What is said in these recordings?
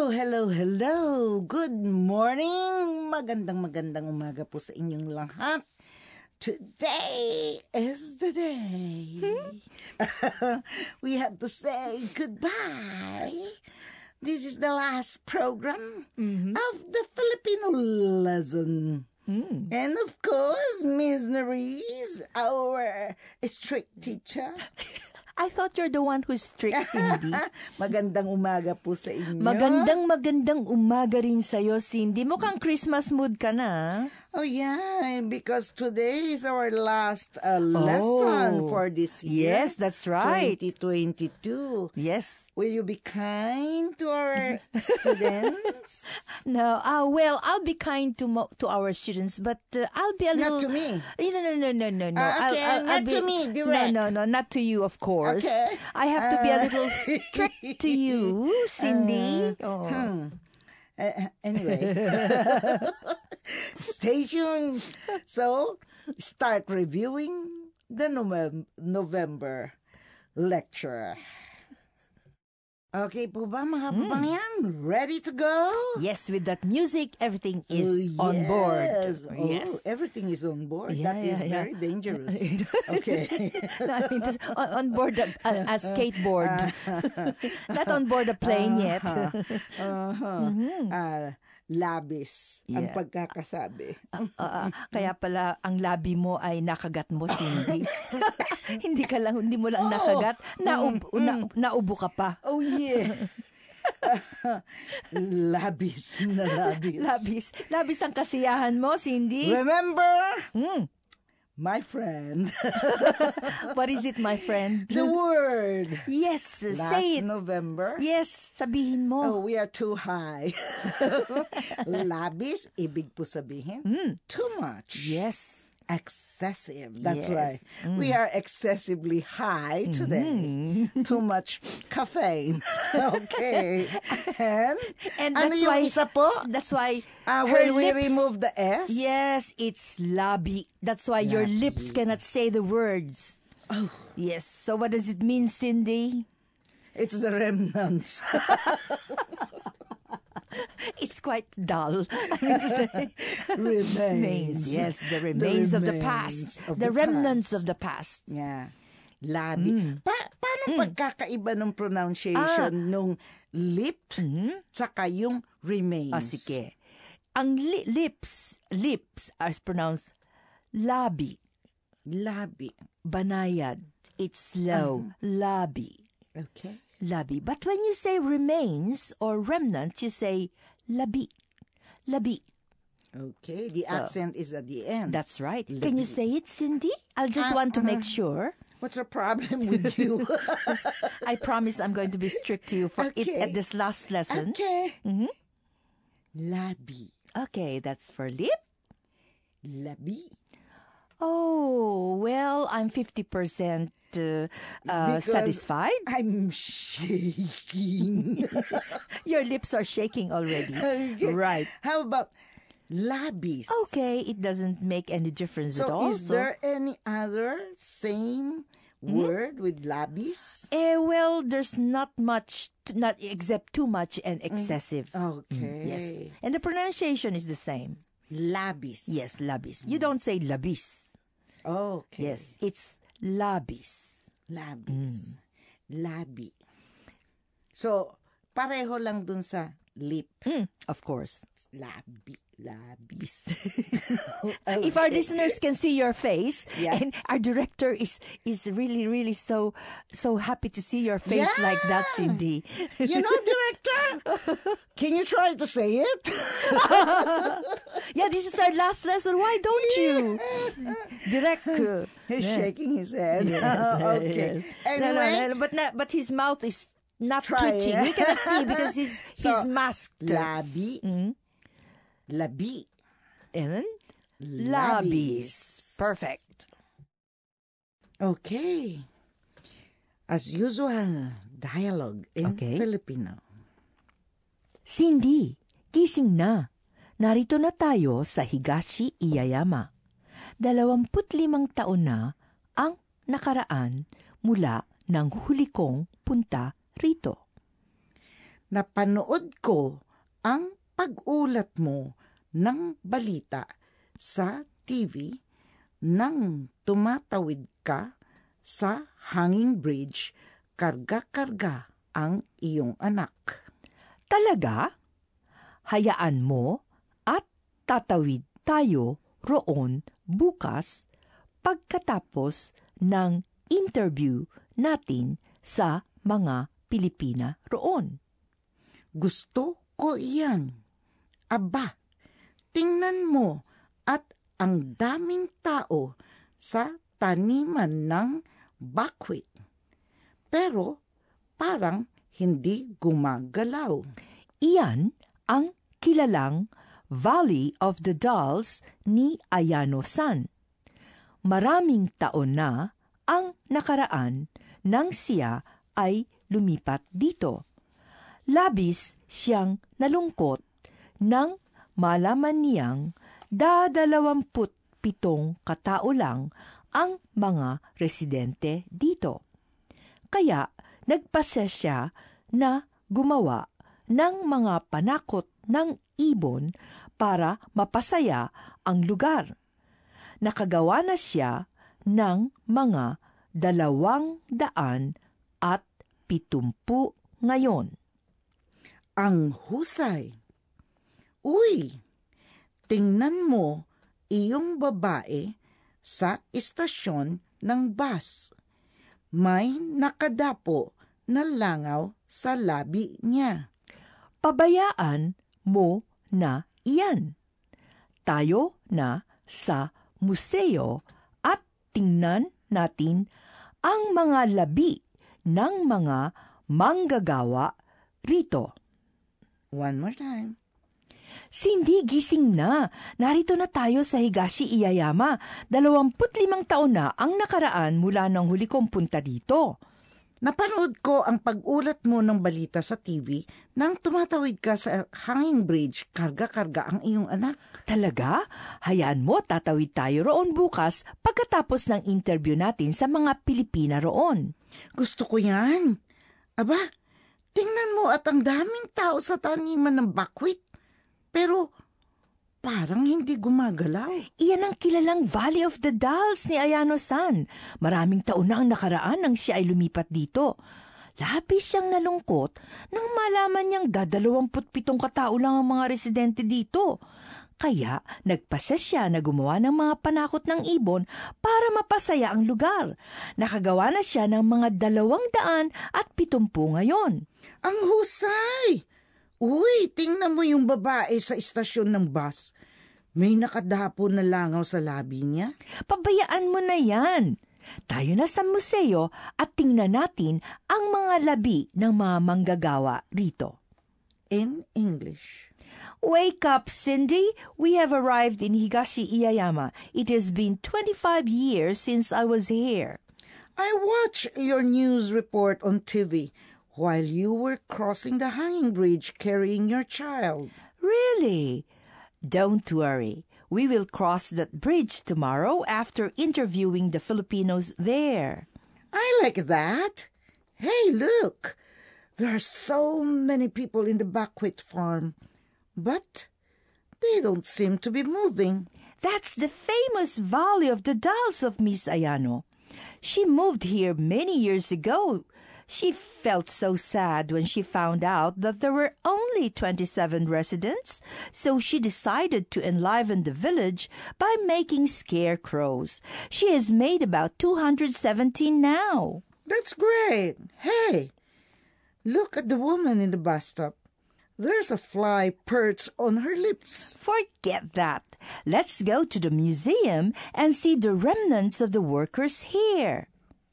Hello. Good morning. Magandang umaga po sa inyong lahat. Today is the day. We have to say goodbye. This is the last program of the Filipino lesson. And of course, Miss Nerys, our strict teacher. I thought you're the one who's strict, Cindy. Magandang umaga po sa inyo. Magandang umaga rin sa'yo, Cindy. Mukhang Christmas mood ka na. Oh yeah, because today is our last lesson for this year. Yes, that's right. 2022. Yes. Will you be kind to our students? No, well, I'll be kind to our students, but I'll be a little... Not to me. No. Okay, not to me, direct. No, not to you, of course. Okay. I have to be a little strict to you, Cindy. Anyway, stay tuned. So, start reviewing the November lecture. Okay po ba mga kababayan? Ready to go? Yes, with that music, everything is on board. Yes. Everything is on board. That is very dangerous. Okay. On board a skateboard. Not on board a plane yet. Labis ang pagkakasabi. Kaya pala ang labi mo ay nakagat mo, Cindy. hindi mo lang nakagat, naubo ka pa. Oh yeah. Labis. Labis ang kasiyahan mo, Cindy. Remember? My friend. What is it, my friend? The word. Yes, say it. Last November. Yes, sabihin mo. Oh, we are too high. Labis, ibig po sabihin, too much. Yes. Excessive. That's why we are excessively high today. Too much caffeine. Okay. And that's yung why isa po? That's why when we remove the S. Yes, it's labi. That's why your lips cannot say the words. Oh. Yes. So what does it mean, Cindy? It's the remnants. It's quite dull. I mean to say. Remains. Yes, the remains of the past. The remnants of the past. Yeah. Labi. Paano pagkakaiba ng pronunciation nung lip tsaka yung remains? Sige. Ang lips are pronounced labi. Labi. Banayad. It's slow. Labi. Okay. Labi. But when you say remains or remnant, you say labi. Labi. Okay. The accent is at the end. That's right. Labi. Can you say it, Cindy? I'll just want to make sure. What's the problem with you? I promise I'm going to be strict to you for it at this last lesson. Okay. Labi. Okay, that's for lip. Labi. Oh, well, I'm 50% satisfied. I'm shaking. Your lips are shaking already. Okay. Right. How about labis? Okay, it doesn't make any difference at all. So is there any other same word with labis? Well, there's not much, not except too much and excessive. Okay. Yes. And the pronunciation is the same. Labis. Yes, labis. You don't say labis. Okay. Yes, it's labis. Labis. Labi. So, pareho lang dun sa lip. Of course. Labis. If our listeners can see your face, Yeah. and our director is really so happy to see your face like that, Cindy. You know, director, can you try to say it? Yeah, this is our last lesson. Why don't you? Direct. He's shaking his head. Okay. Yes. Anyway, No, but his mouth is not Try, twitching. yeah. We cannot see because he's masked. Labi. Labi. And labis. Perfect. Okay. As usual, dialogue in Filipino. Cindy, gising na. Narito na tayo sa Higashi Iyayama. 25 taon na ang nakaraan mula ng huli kong punta rito. napanood ko ang pag-ulat mo ng balita sa TV nang tumatawid ka sa hanging bridge, karga-karga ang iyong anak. Talaga? Hayaan mo at tatawid tayo roon bukas pagkatapos ng interview natin sa mga Pilipina roon. Gusto ko iyan. Aba, tingnan mo at ang daming tao sa taniman ng buckwheat. Pero parang hindi gumagalaw. Iyan ang kilalang Valley of the Dolls ni Ayano-san. Maraming taon na ang nakaraan nang siya ay lumipat dito. Labis siyang nalungkot nang malaman niyang 27 katao lang ang mga residente dito. Kaya nagpasya siya na gumawa ng mga panakot ng ibon para mapasaya ang lugar. Nakagawa na siya ng mga 270 ngayon. Ang husay. Uy, tingnan mo iyong babae sa istasyon ng bus. May nakadapo na langaw sa labi niya. Pabayaan mo na iyan. Tayo na sa museo at tingnan natin ang mga labi ng mga manggagawa rito. One more time. Cindy, gising na. Narito na tayo sa Higashi Iyayama. 25 taon na ang nakaraan mula nang huli kong punta dito. Napanood ko ang pag-ulat mo ng balita sa TV nang tumatawid ka sa hanging bridge, karga-karga ang iyong anak. Talaga? Hayaan mo, tatawid tayo roon bukas pagkatapos ng interview natin sa mga Pilipina roon. Gusto ko yan. Aba, tingnan mo at ang daming tao sa taniman ng buckwheat. Pero parang hindi gumagalaw. Iyan ang kilalang Valley of the Dolls ni Ayano-san. Maraming taon na ang nakaraan nang siya ay lumipat dito. Labis siyang nalungkot nang malaman niyang 27 katao lang ang mga residente dito. Kaya nagpasya siya na gumawa ng mga panakot ng ibon para mapasaya ang lugar. Nakagawa na siya ng mga 270 ngayon. Ang husay! Uy, tingnan mo yung babae sa istasyon ng bus. May nakadapo na langaw sa labi niya. Pabayaan mo na yan. Tayo na sa museo at tingnan natin ang mga labi ng mga manggagawa rito. In English. Wake up, Cindy. We have arrived in Higashi Iyayama. It has been 25 years since I was here. I watched your news report on TV while you were crossing the hanging bridge carrying your child. Really? Don't worry. We will cross that bridge tomorrow after interviewing the Filipinos there. I like that. Hey, look. There are so many people in the buckwheat farm, but they don't seem to be moving. That's the famous Valley of the Dolls of Miss Ayano. She moved here many years ago. She felt so sad when she found out that there were only 27 residents, so she decided to enliven the village by making scarecrows. She has made about 217 now. That's great. Hey, look at the woman in the bus stop. There's a fly perched on her lips. Forget that. Let's go to the museum and see the remnants of the workers here.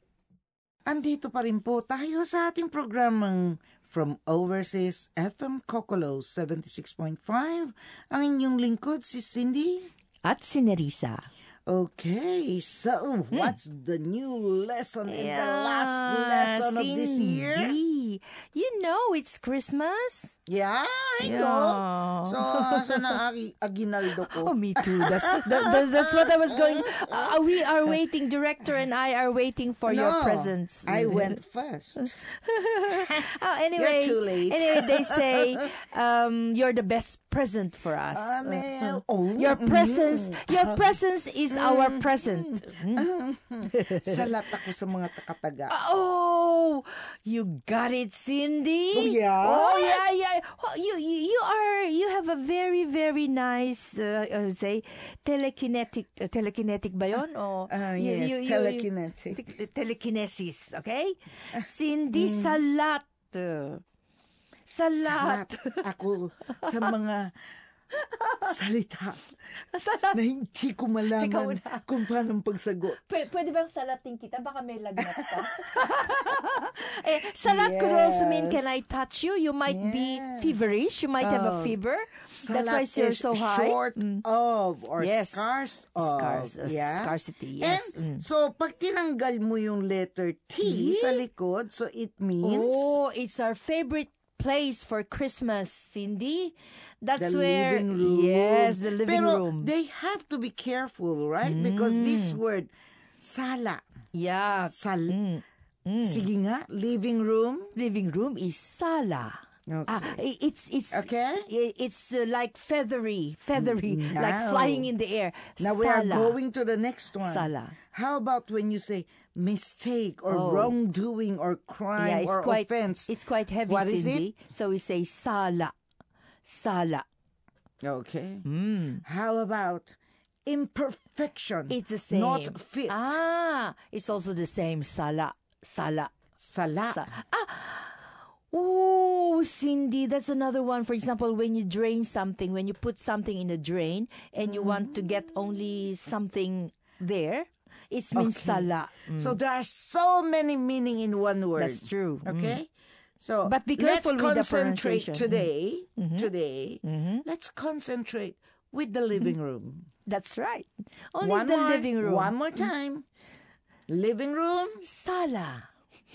Andito pa rin po tayo sa ating programang From Overseas FM Kokolo 76.5. Ang inyong lingkod si Cindy At si Nerissa. Okay, so what's the new lesson in the last lesson of this year? Cindy, you know it's Christmas. Yeah, I Yeah. know. So, asa na aginaldo ko? Oh, me too. That's what I was going. We are waiting. Director and I are waiting for your presents. I went first. Anyway, You're too late. Anyway, they say you're the best present for us. Your presence is our present. Salat ako sa mga takataga. Oh, you got it, Cindy. Oh, yeah? Oh, yeah. Oh, you have a very, very nice, say, telekinetic ba yun? O, Yes, telekinetic. Telekinesis, okay? Cindy, salat. Salat. Ako sa mga salita na hindi ko malaman kung paano pagsagot. Pwede bang salatin kita? Baka may lagnat ka. Salat could also mean, can I touch you? You might be feverish. You might have a fever. That's why you're so high. Short of or scarce of. Scarcity, yes. And so, pag tinanggal mo yung letter T sa likod, so it means... Oh, it's our favorite place for Christmas, Cindy. That's the where living room. Yes, the living room. They have to be careful, right? Because this word sala. Yeah. Sige nga, living room. Living room is sala. Okay. It's okay. It's like feathery, like flying in the air. Now we are going to the next one. Sala. How about when you say mistake or wrongdoing or crime or offense? It's quite heavy, what Cindy. Is it? So we say sala. Okay. How about imperfection? It's the same. Not fit. It's also the same. Sala. Oh, Cindy, that's another one. For example, when you drain something, when you put something in a drain and you want to get only something there, it means sala. So there are so many meaning in one word. That's true. Okay? So but be careful let's with the concentrate pronunciation. today. Let's concentrate with the living room. That's right. Only living room. One more time. Living room. Sala.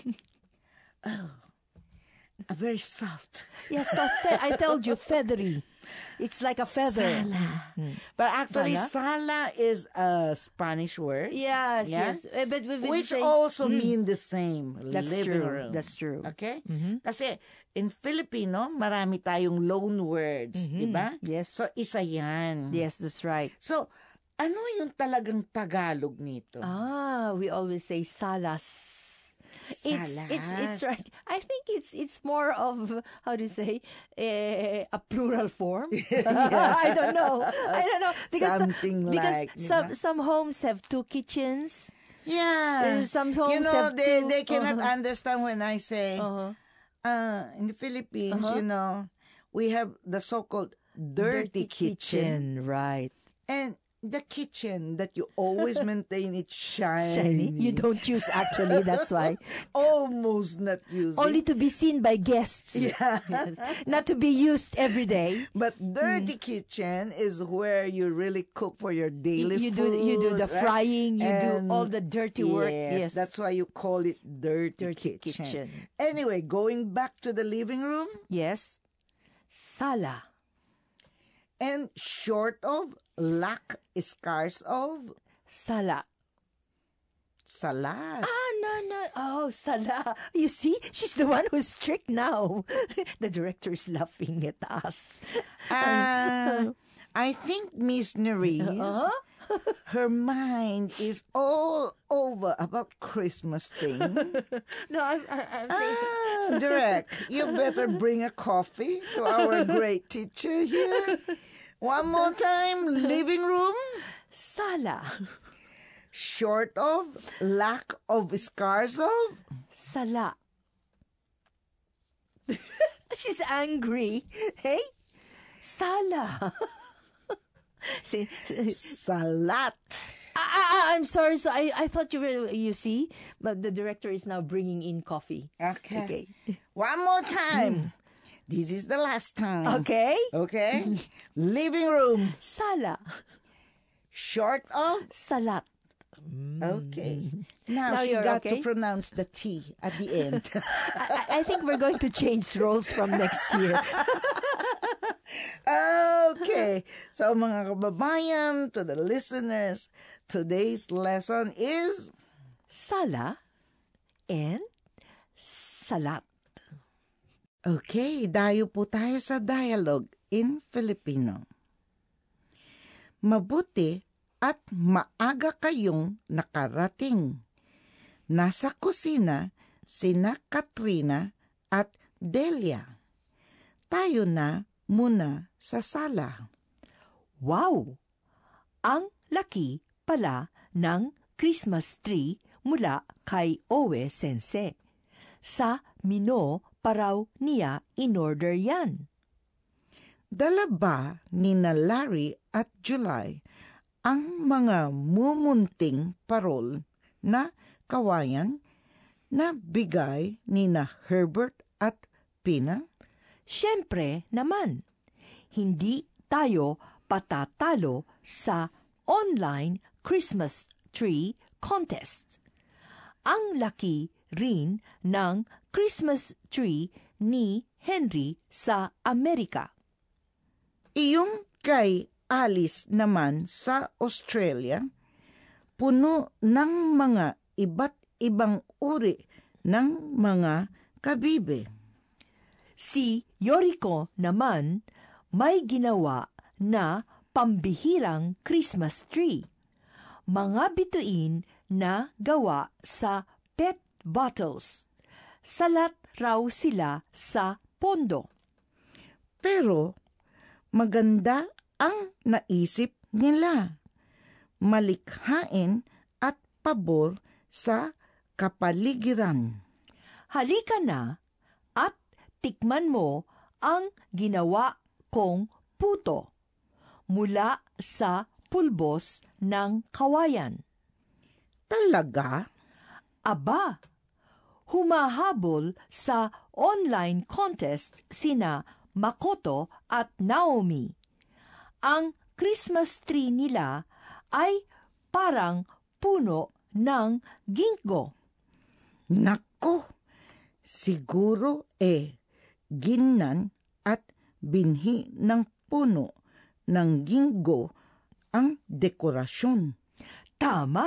A very soft. Yes, I told you, feathery. It's like a feather. Sala. But actually, sala is a Spanish word. Yes. But which also mean the same. That's living true. room. That's true. Okay? Kasi in Filipino, marami tayong loan words, di ba? Yes. So, isa yan. Yes, that's right. So, ano yung talagang Tagalog nito? We always say salas. It's right. I think it's more of, how do you say, a plural form. I don't know because some homes have two kitchens. Yeah. Some homes have two. They cannot understand when I say in the Philippines, we have the so-called dirty kitchen. Right. And the kitchen that you always maintain it shiny. You don't use actually, that's why. Almost not using. Only to be seen by guests. Yeah. Not to be used every day. But dirty kitchen is where you really cook for your daily food. You do the right? frying, you do all the dirty work. Yes. That's why you call it dirty kitchen. Anyway, going back to the living room. Yes. Sala. And short of, lack, scarce of? Sala. Salad. No. Oh, sala. You see, she's the one who's strict now. The director is laughing at us. I think Miss Nerese, her mind is all over about Christmas thing. No, I'm thinking. Direct, you better bring a coffee to our great teacher here. One more time, living room. Sala. Short of, lack of, scarce of? Sala. She's angry. Hey? Sala. Salat. I'm sorry. So I thought you see, but the director is now bringing in coffee. Okay. One more time. This is the last time. Okay. Living room. Sala. Short of? Salat. Okay. Now she got to pronounce the T at the end. I think we're going to change roles from next year. Okay, so mga kababayan, to the listeners, today's lesson is Sala and salat. Okay, dayo po tayo sa dialogue in Filipino. Mabuti at maaga kayong nakarating. Nasa kusina sina Katrina at Delia. Tayo na muna sa sala. Wow! Ang laki pala ng Christmas tree mula kay Owe Sensei. Sa Mino pa raw niya in-order yan. Dala ba ni na Larry at July ang mga mumunting parol na kawayan na bigay ni na Herbert at Pina? Siyempre naman, hindi tayo patatalo sa online Christmas tree contest. Ang laki rin ng Christmas tree ni Henry sa Amerika. Iyong kay Alice naman sa Australia, puno ng mga iba't ibang uri ng mga kabibe. Si Yoriko naman may ginawa na pambihirang Christmas tree. Mga bituin na gawa sa PET bottles. Salat raw sila sa pondo. Pero maganda ang naisip nila. Malikhain at pabor sa kapaligiran. Halika na at tikman mo ang ginawa kong puto mula sa pulbos ng kawayan. Talaga? Aba, humahabol sa online contest sina Makoto at Naomi. Ang Christmas tree nila ay parang puno ng ginkgo. Nako, siguro ginnan at binhi ng puno ng ginkgo ang dekorasyon. Tama!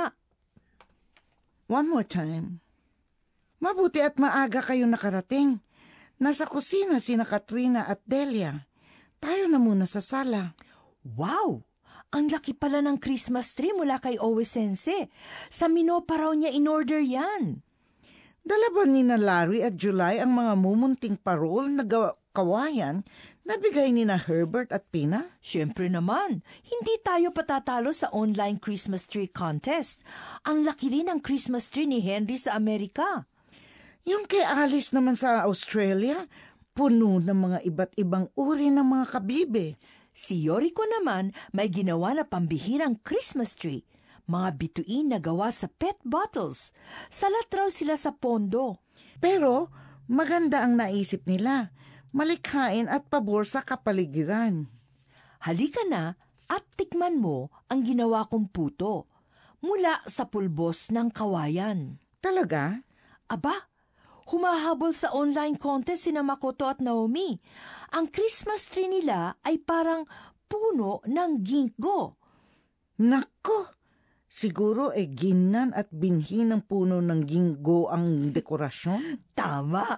One more time. Mabuti at maaga kayo nakarating. Nasa kusina sina Katrina at Delia. Tayo na muna sa sala. Wow! Ang laki pala ng Christmas tree mula kay Owe Sensei. Sa Mino pa raw niya in-order yan. Dala ba ni na Larry at July ang mga mumunting parol na kawayan na bigay ni na Herbert at Pina? Siyempre naman, hindi tayo patatalo sa online Christmas tree contest. Ang laki rin ng Christmas tree ni Henry sa Amerika. Yung kay Alice naman sa Australia, puno ng mga iba't ibang uri ng mga kabibe. Si Yoriko naman may ginawa na pambihirang Christmas tree. Mga bituin na gawa sa PET bottles. Salat raw sila sa pondo. Pero maganda ang naisip nila. Malikhain at pabor sa kapaligiran. Halika na at tikman mo ang ginawa kong puto mula sa pulbos ng kawayan. Talaga? Aba, humahabol sa online contest sina Makoto at Naomi. Ang Christmas tree nila ay parang puno ng ginkgo. Nako! Siguro ginnan at binhi ng puno ng ginkgo ang dekorasyon? Tama!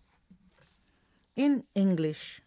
In English.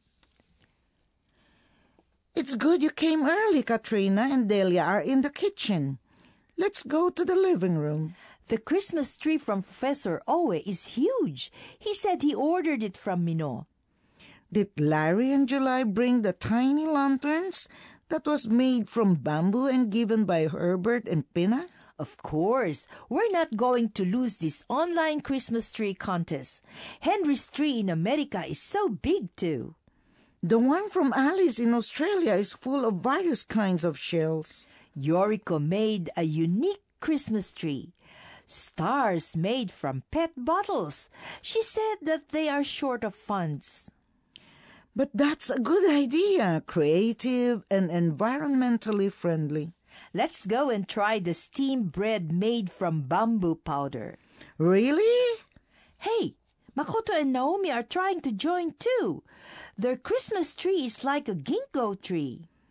It's good you came early, Katrina and Delia are in the kitchen. Let's go to the living room. The Christmas tree from Professor Owe is huge. He said he ordered it from Mino. Did Larry and July bring the tiny lanterns that was made from bamboo and given by Herbert and Pina? Of course, we're not going to lose this online Christmas tree contest. Henry's tree in America is so big too. The one from Alice in Australia is full of various kinds of shells. Yoriko made a unique Christmas tree. Stars made from PET bottles. She said that they are short of funds. But that's a good idea, creative and environmentally friendly. Let's go and try the steamed bread made from bamboo powder. Really? Hey, Makoto and Naomi are trying to join too. Their Christmas tree is like a ginkgo tree.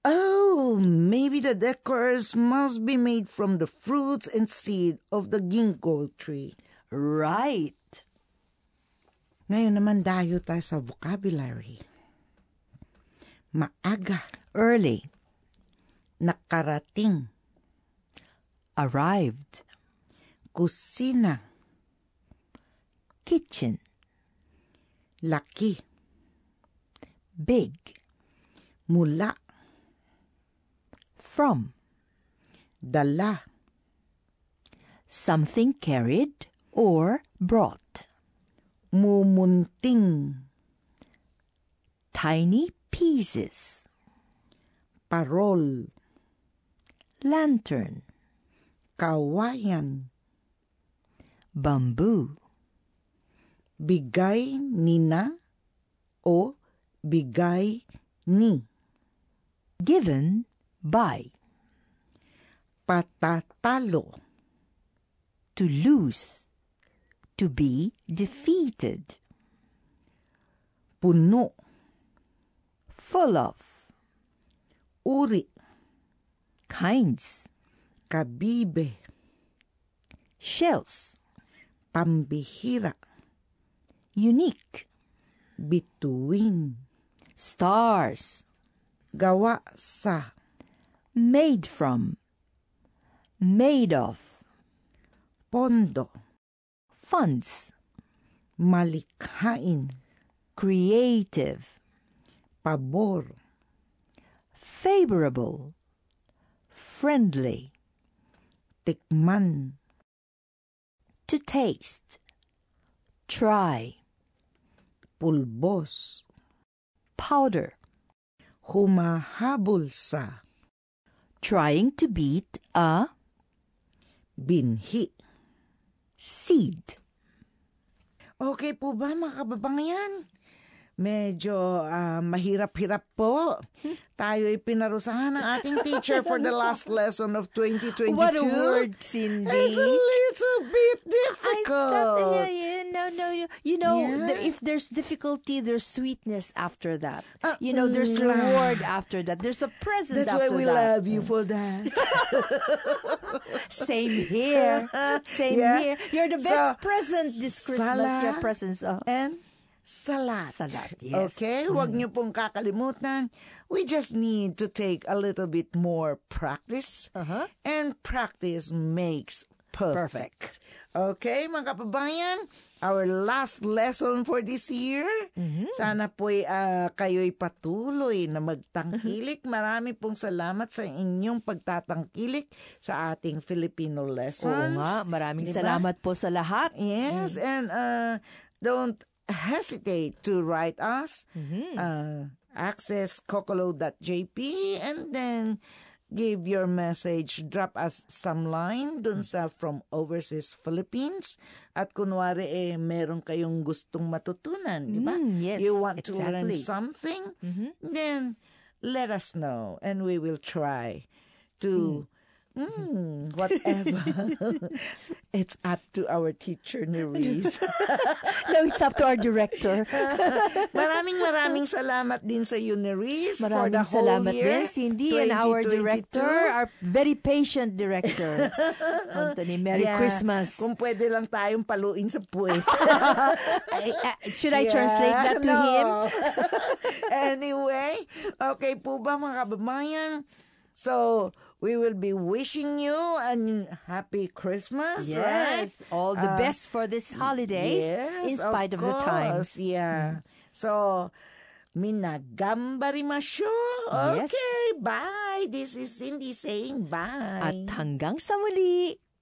Oh, maybe the decors must be made from the fruits and seed of the ginkgo tree. Right. Ngayon naman dayo tayo sa vocabulary. Maaga, Early. nakarating, Arrived. kusina, Kitchen. laki, Big. mula, From. dala, Something carried or brought. mumunting, Tiny pieces. parol, Lantern. kawayan, Bamboo. bigay nina o bigay ni, Given by. patatalo, To lose. To be defeated. puno, Full of. uri, Kinds. kabibe, Shells. pambihira, Unique. bituin, Stars. gawa sa, Made from. Made of. pondo, Funds. malikhain, Creative. pabor, Favorable. Friendly. tikman, To taste. Try. pulbos, Powder. humahabol sa, Trying to beat a binhi. seed. Okay po ba mga kababayan? Medyo mahirap-hirap po. Tayo ay pinarusahan ng ating teacher for the last lesson of 2022. What a word, Cindy. It's a little bit difficult. No. You know, Yeah. if there's difficulty, there's sweetness after that. There's reward after that. There's a present That's after why we that. love you for that. Same here. Same Yeah. here. You're the best So, present this Christmas. sala Your presents. And salat. Salat, yes. Okay? Huwag niyo pong kakalimutan. We just need to take a little bit more practice. Uh-huh. And practice makes perfect. Okay, mga kababayan? Our last lesson for this year. Sana po'y kayo'y patuloy na magtangkilik. Marami pong salamat sa inyong pagtatangkilik sa ating Filipino Oo lessons. nga, maraming Diba? salamat po sa lahat. Yes, and don't hesitate to write us. Access kokolo.jp and then give your message. Drop us some line dun sa From Overseas Philippines. At kunwari meron kayong gustong matutunan, di ba? Yes, You want to learn exactly. something? Then let us know and we will try to whatever. It's up to our teacher, Nerese. No, it's up to our director. Maraming salamat din sa you, Nerese, for the Maraming whole salamat year, din, Cindy, and our 2022. director, our very patient director. Anthony, Merry Yeah. Christmas. Kung pwede lang tayong paluin sa puwet. Should I translate that to him? Anyway, okay po ba mga kababayan? So, we will be wishing you a happy Christmas, right? Yes, all the best for this holidays, in spite of the times. Yeah. So, minagambarimasyo. Yes. Okay, bye. This is Cindy saying bye. At hanggang sa muli.